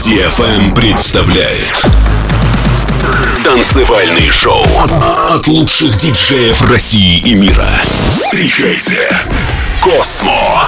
DFM представляет танцевальный шоу от лучших диджеев России и мира. Встречайте Космо.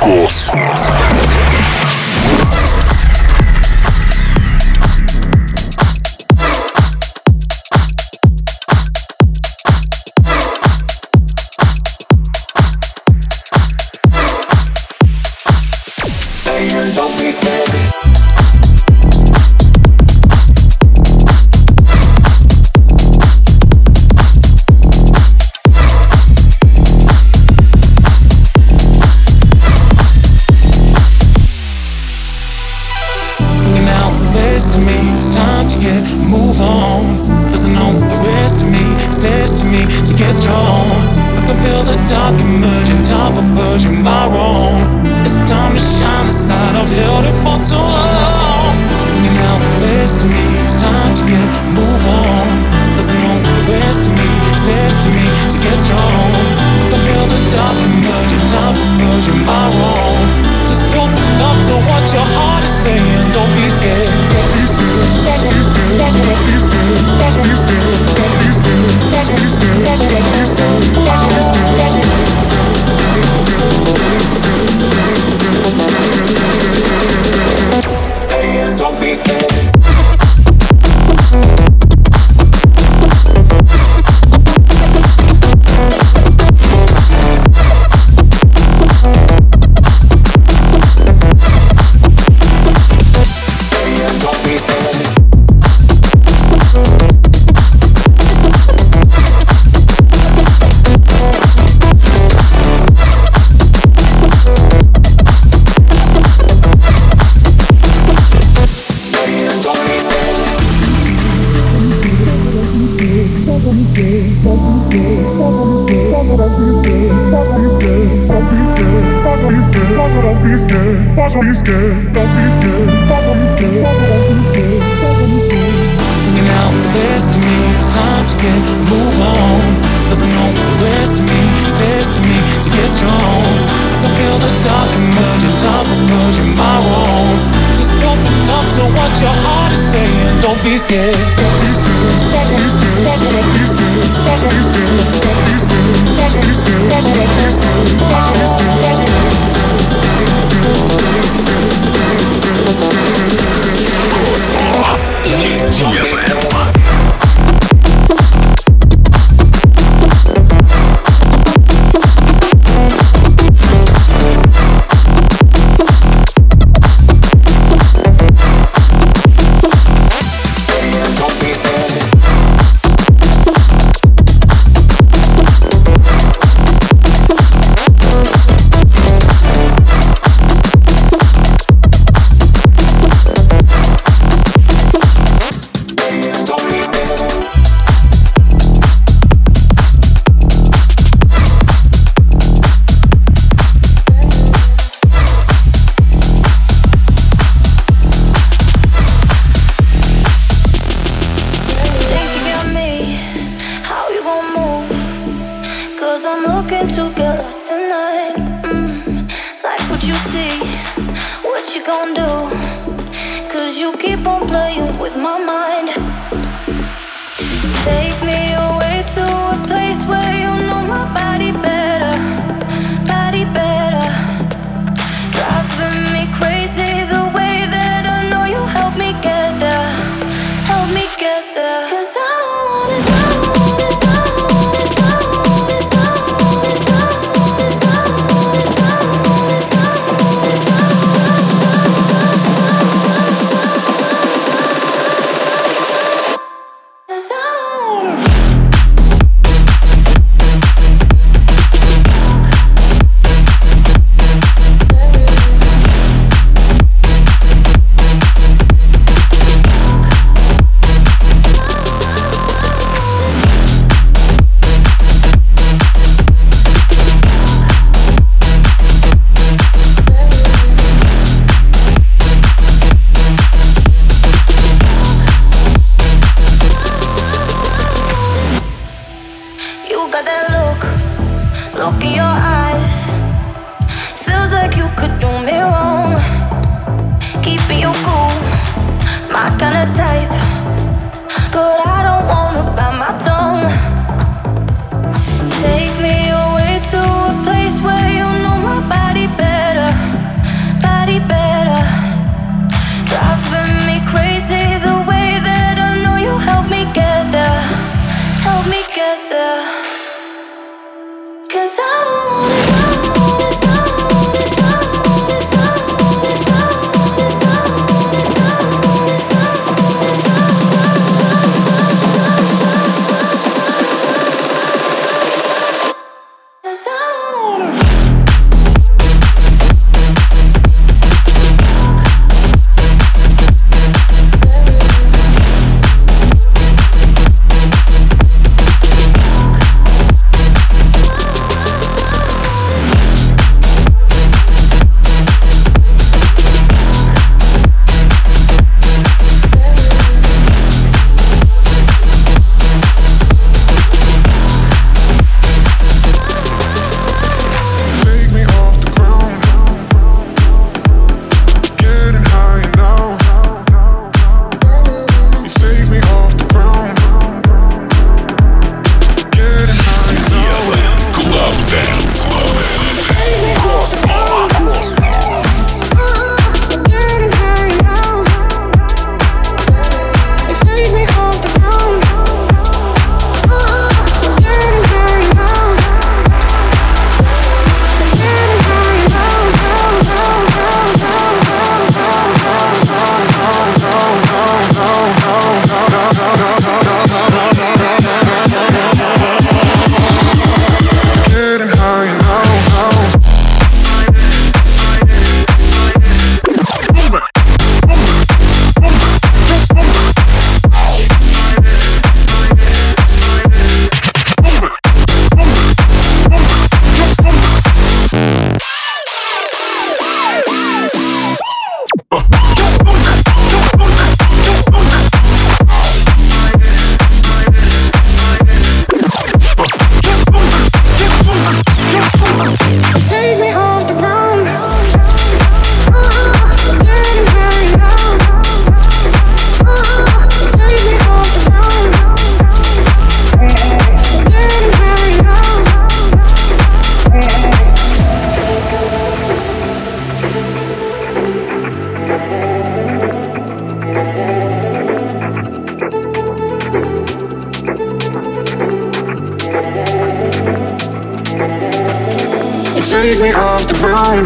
Take me off the ground.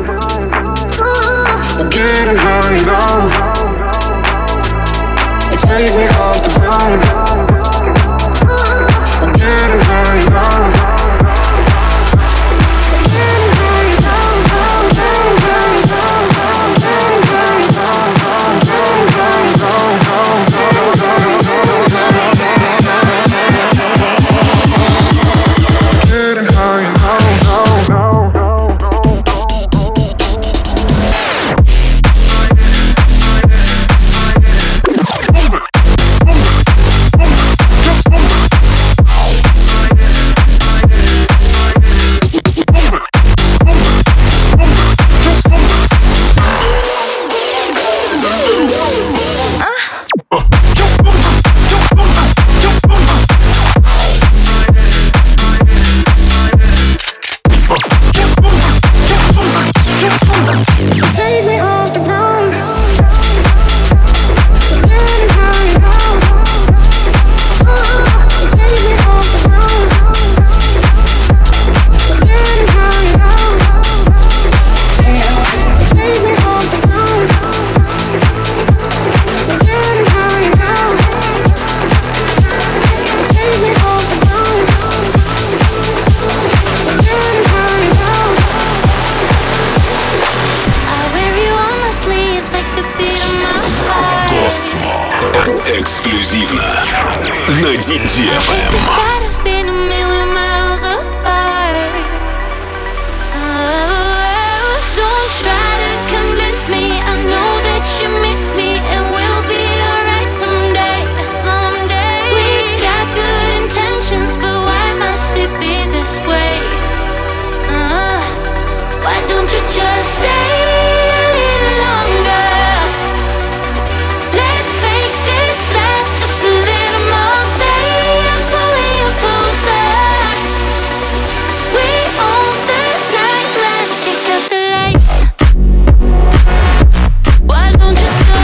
I'm getting high now. Take me off the ground. I'm getting high now. Эксклюзивно на DFM. Why don't you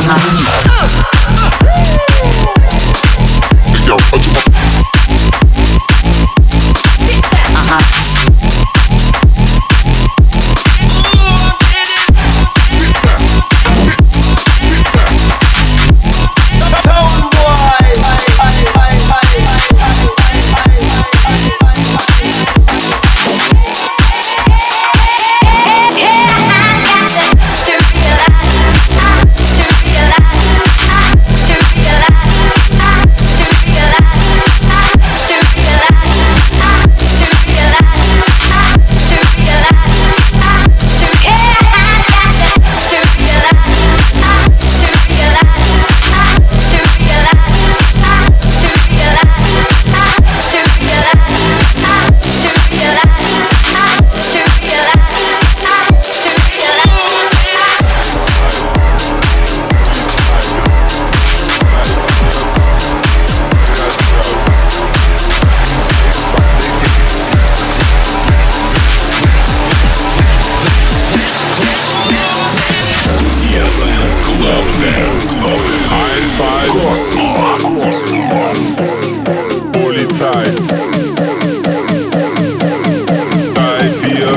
Polizei. 3, 4.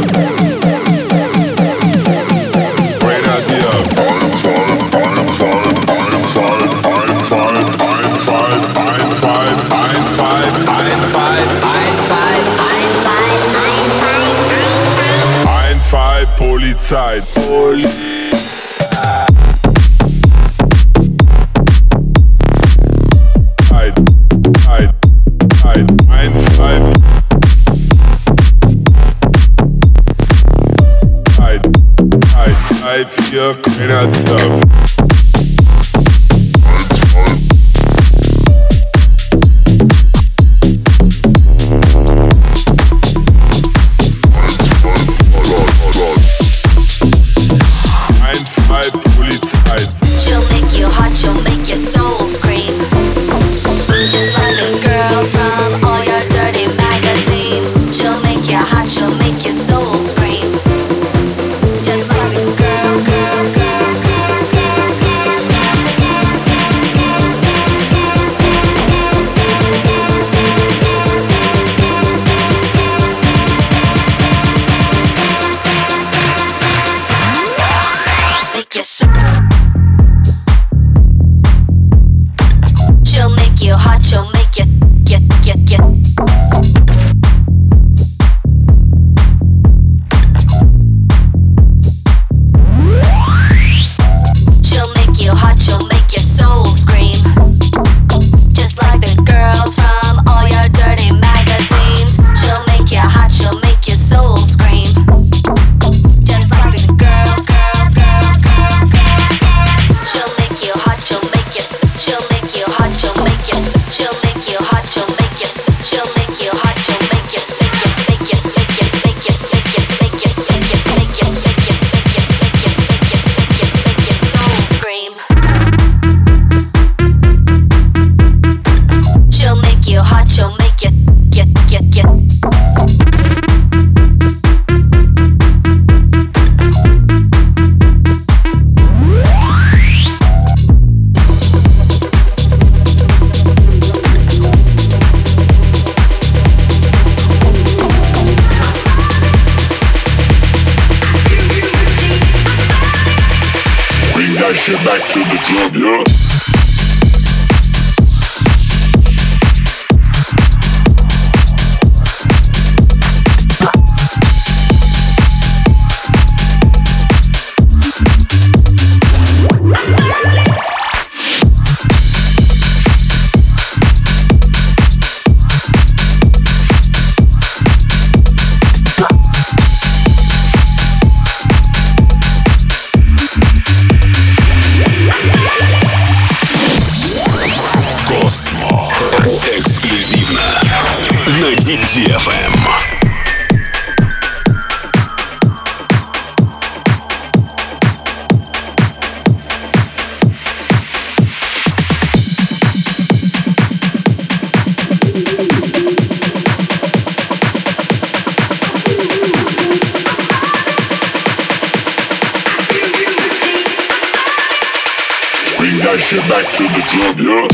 Grenadier. 1, 2, Polizei. Vier Grenadier. Shit back to the club, yeah. Эксклюзивно на DFM. shit back to the club, yeah.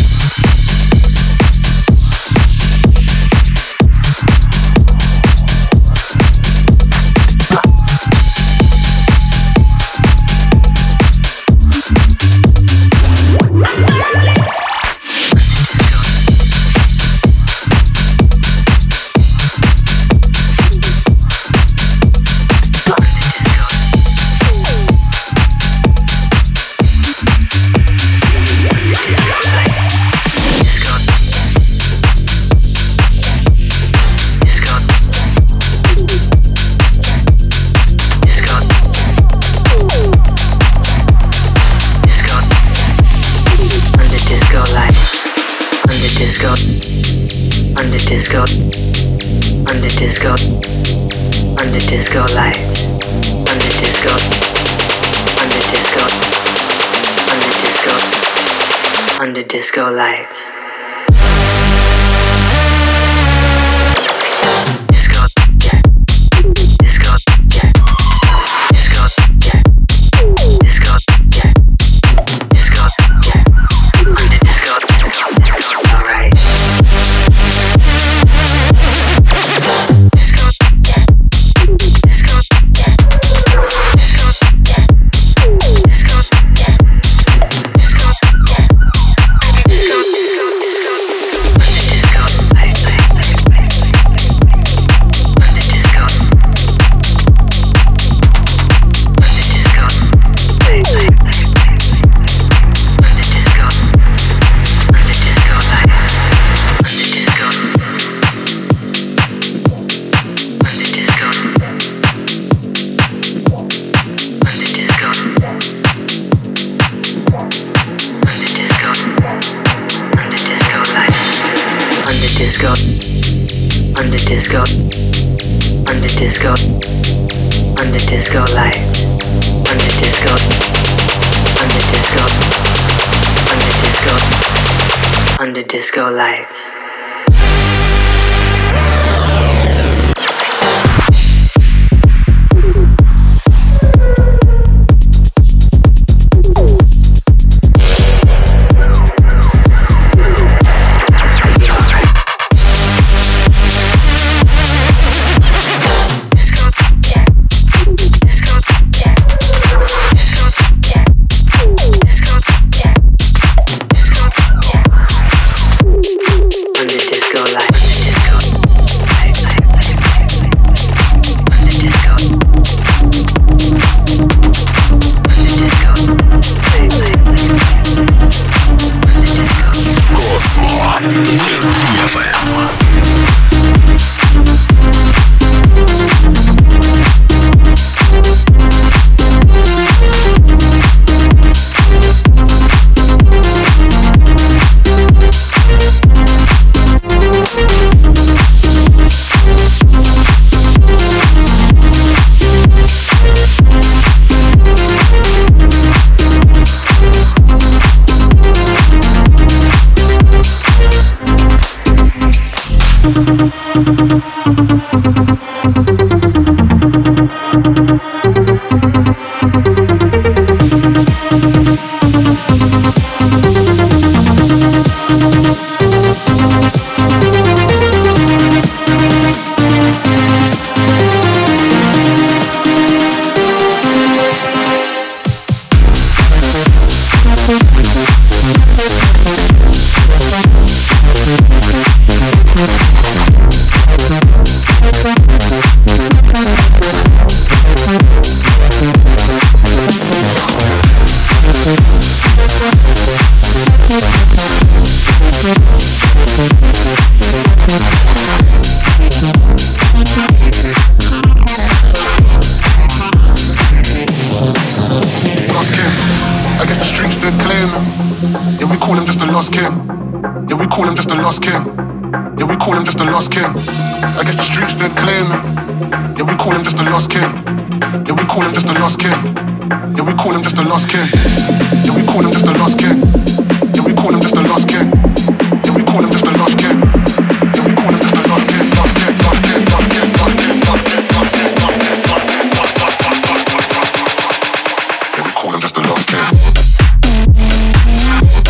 Disco lights. Disco lights. Just a lost kid.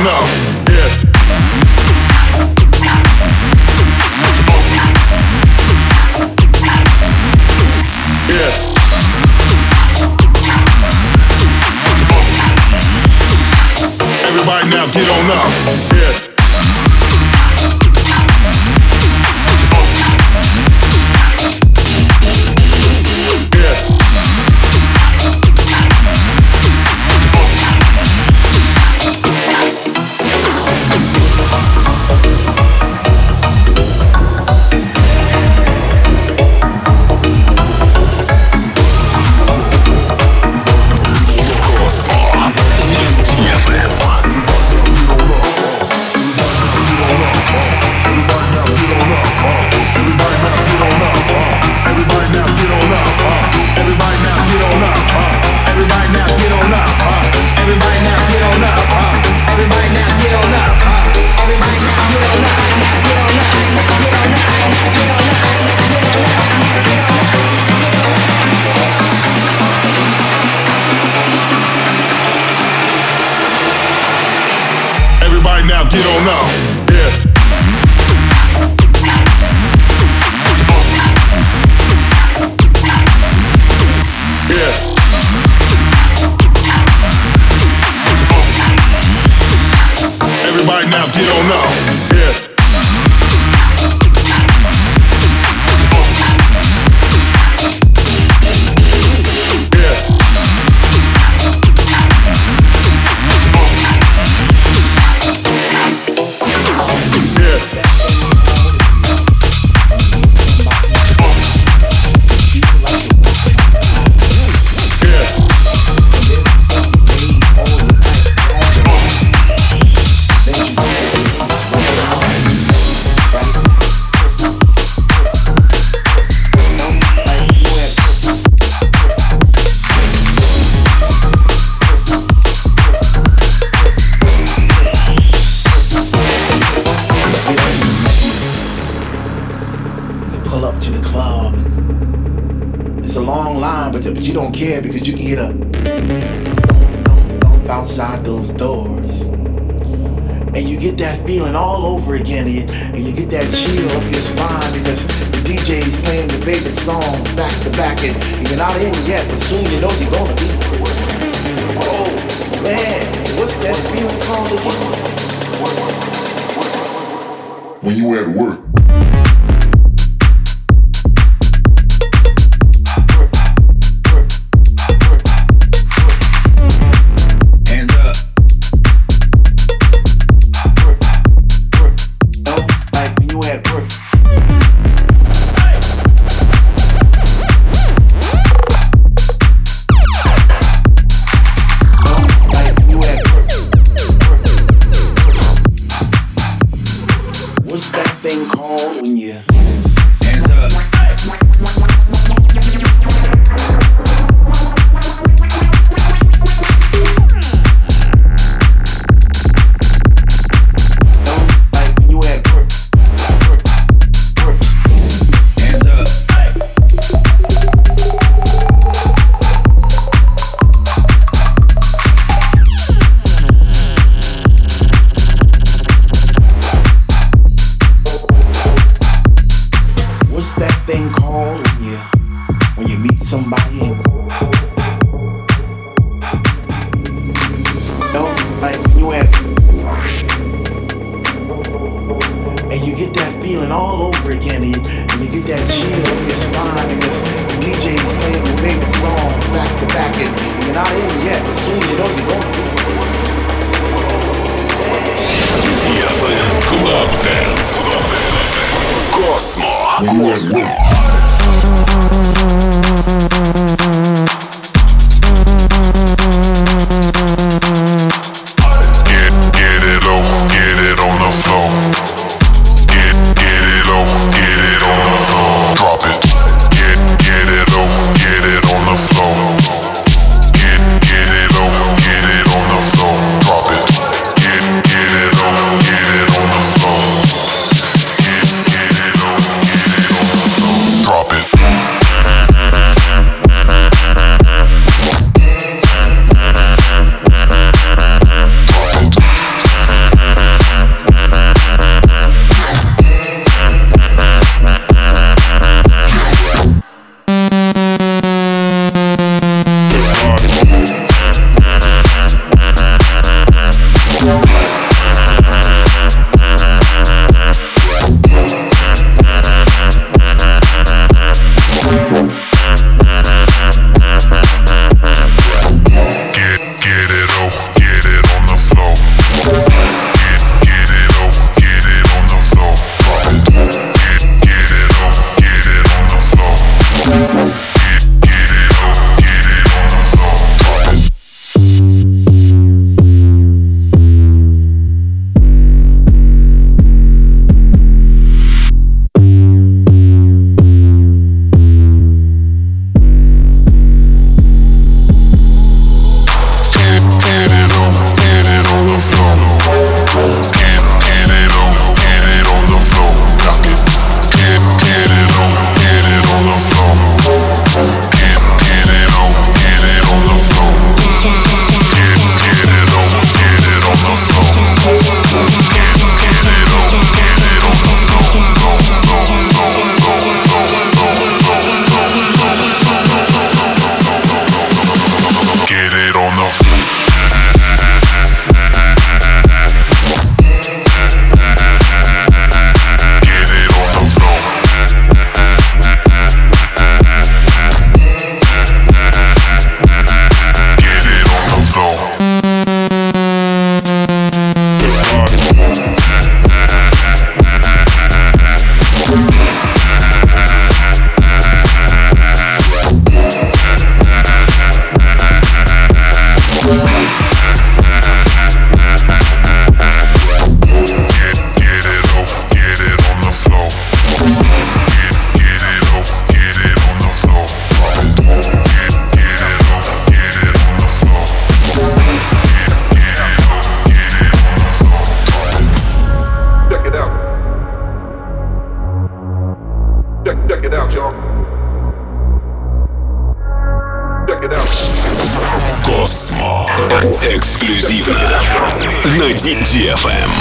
don't know. Yeah. Yeah. Everybody now get on up. Yeah. Now get on up. Yeah. Yeah. Everybody now get on up. Yeah. But you don't care because you can get up outside those doors, and you get that feeling all over again, and you get that chill up your spine because the DJ's playing your favorite songs back to back, and you're not in yet, but soon you know you're gonna be. Oh man, what's that feeling called again? When you at work. Эксклюзивно на DFM.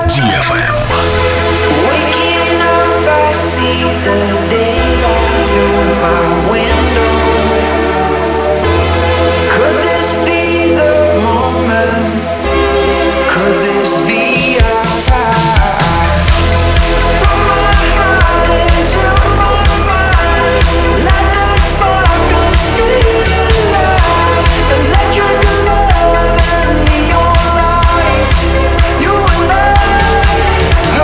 DFM. Waking up, I see the daylight through my window. Could this be the moment? Could this be our time? From my heart into my mind, let the spark come still alive. Electric love and neon lights. You and I.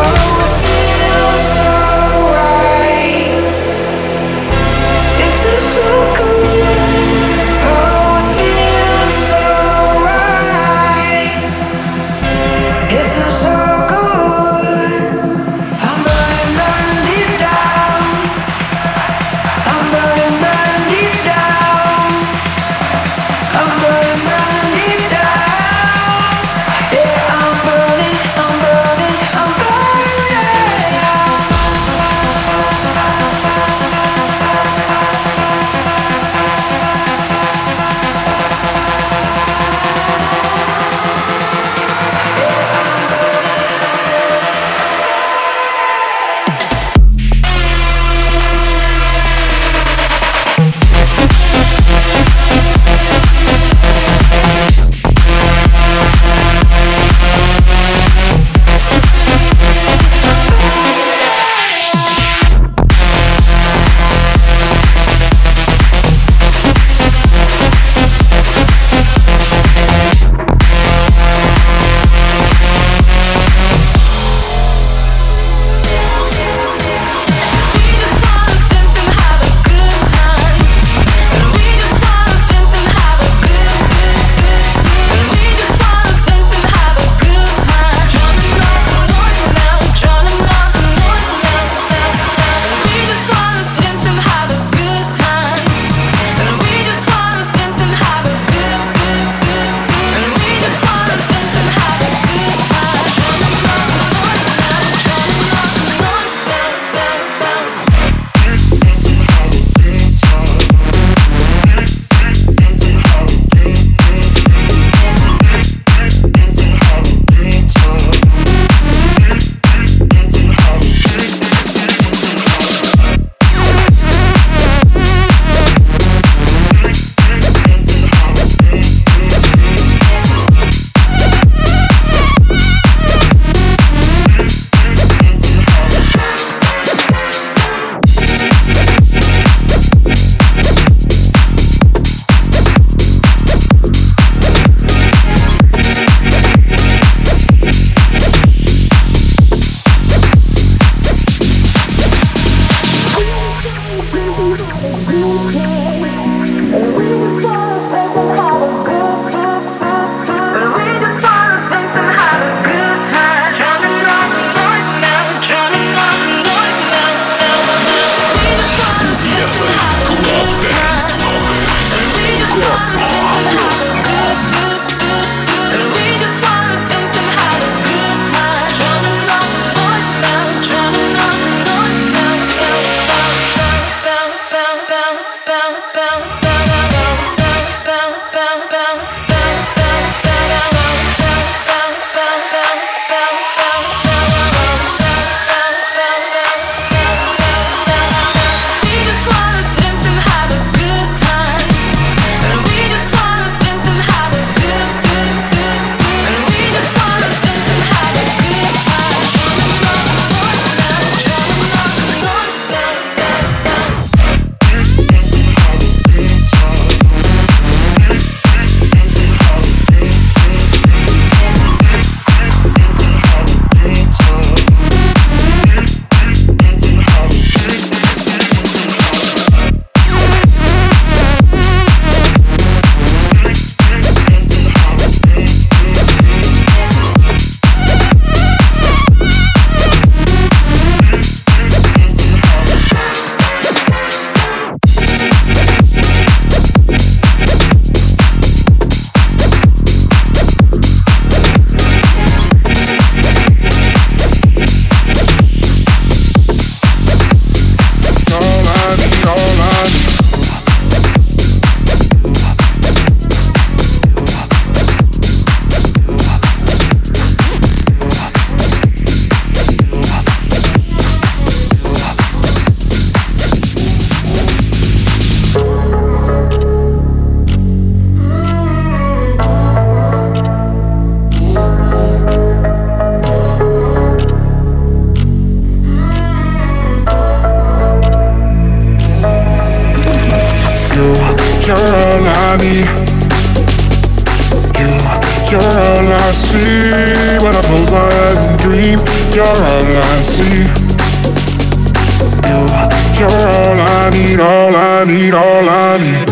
You're all I see. You're all I need, all I need, all I need.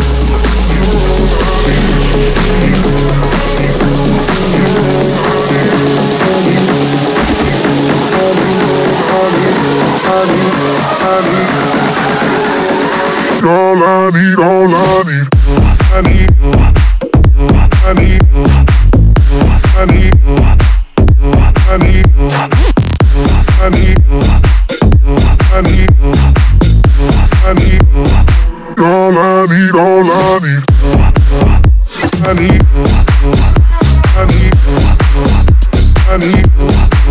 All I need, all I need. I need you. I need you. I need you. I need you. I need you. I need you. I need you. All I need, all I need. I need you. I need you. I need you.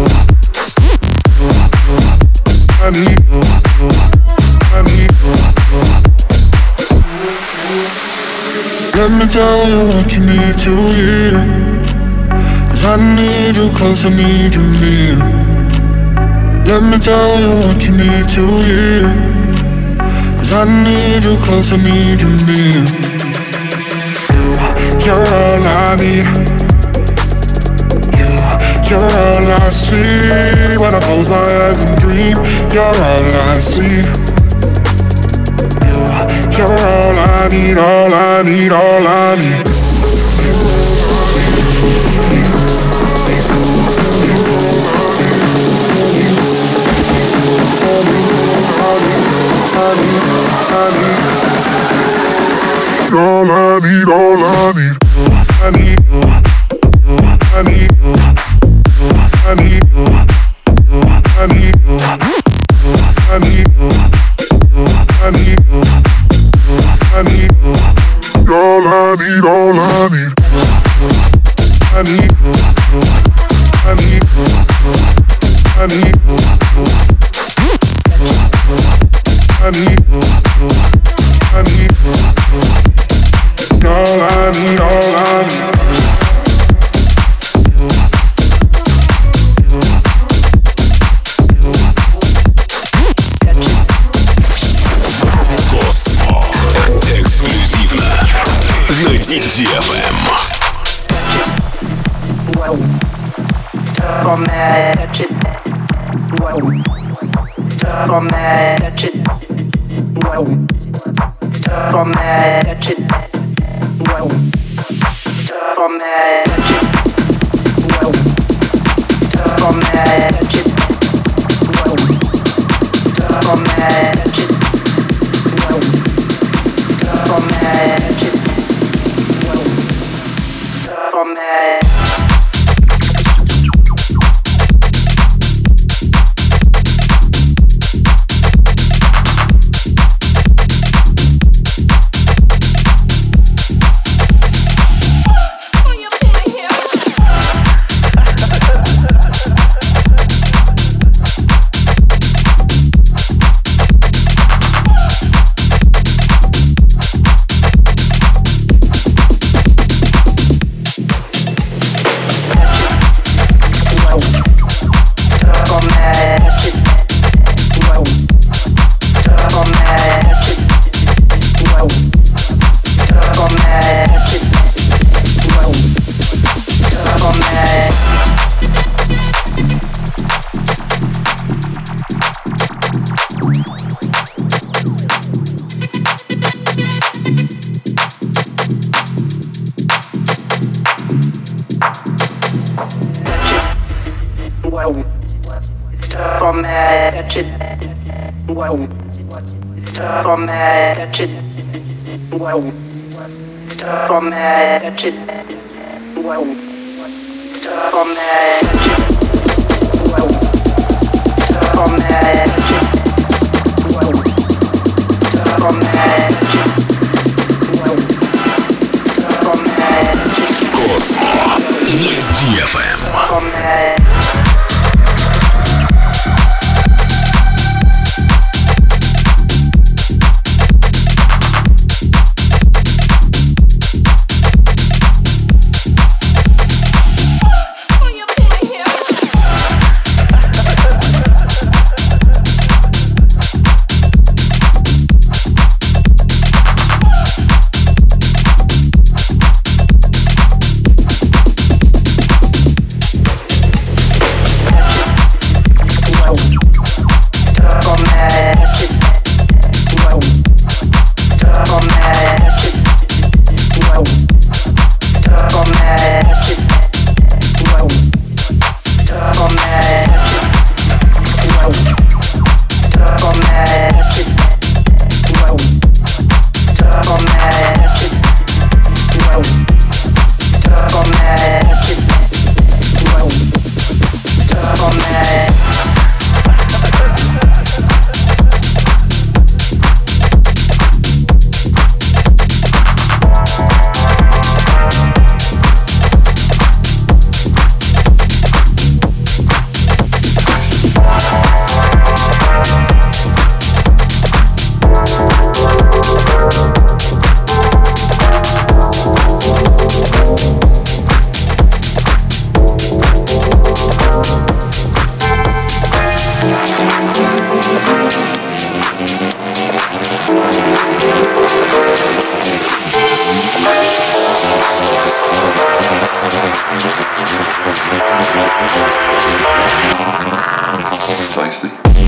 I need you. I need you. Let me tell you what you need to hear. 'Cause I need you close, I need you near. Let me tell you what you need to hear. 'Cause I need you close, I need you near. You're all I need. You're all I see. When I close my eyes and dream, you're all I see. You're all I need, all I need, all I need. All I need, all I need. I need you. I need you. I need you. I need you. I need you. I need you. I need you. All I need, all I need. I need you. I need you. I need you. I need you. I need you. All I need, all I need. На DFM. Stuff on that, touch it. Whoa. Stuff on that, touch it. Whoa. Stuff on that, touch it. Whoa. Stuff on that, touch it. Whoa. Stuff on that, touch it. Whoa. Stuff on that, touch it. Whoa. Stuff on that, touch it. Whoa. Stuff on that. Touch it. Whoa. Stuff on that, touch it. Whoa. Stuff on that, touch it. Whoa. Stuff on that, touch it. Whoa. Stuff on that, touch it. Whoa. Stuff on that, touch it. Whoa. Stuff on that, touch it. Космо. На DFM. Stuff on that. Precisely.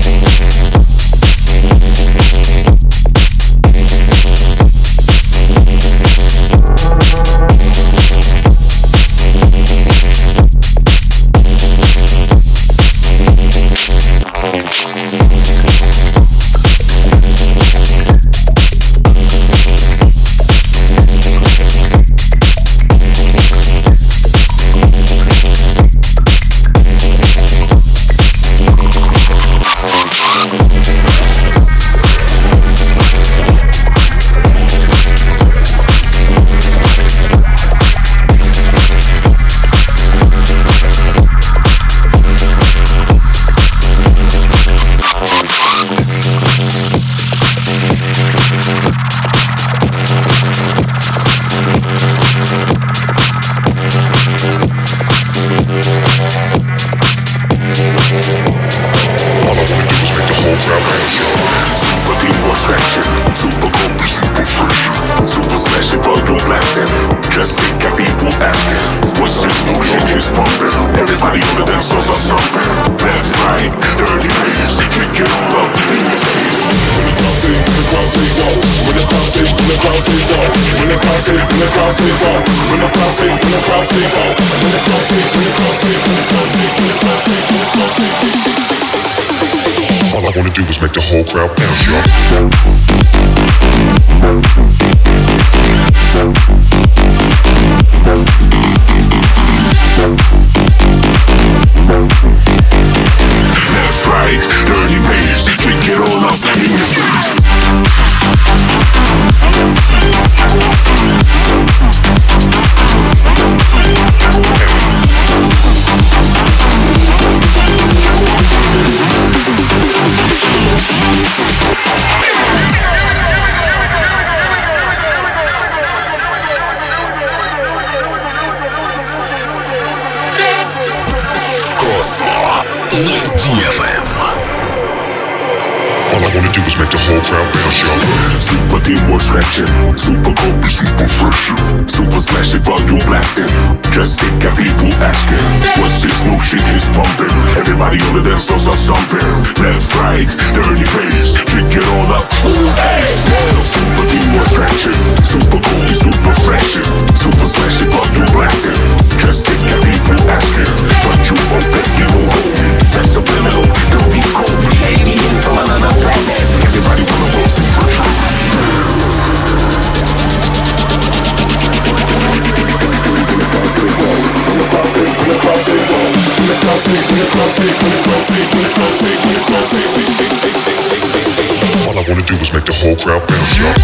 All I wanna do is make the whole crowd bounce, y'all. That's right, dirty bass, kick it all up in your feet. DFM. All I wanna do is make the whole crowd bounce, y'all. Super teamwork stretching, super comfy, super fresh, super slashing, volume blasting. Just think of people asking, what's this new shit he's pumping? Everybody on the dance floor start stomping. Left, right, dirty bass, kick it all up. Hey, super teamwork stretching, super comfy, super fresh, super slashing, volume blasting. Just think of people asking, but you won't bet you won't hold me. That's subliminal, don't be cold. Alien from another planet. Everybody wanna roll some fresh. All I wanna do is make the whole crowd bounce, y'all.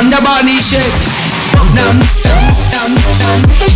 on the body shake. Down, down, down, down.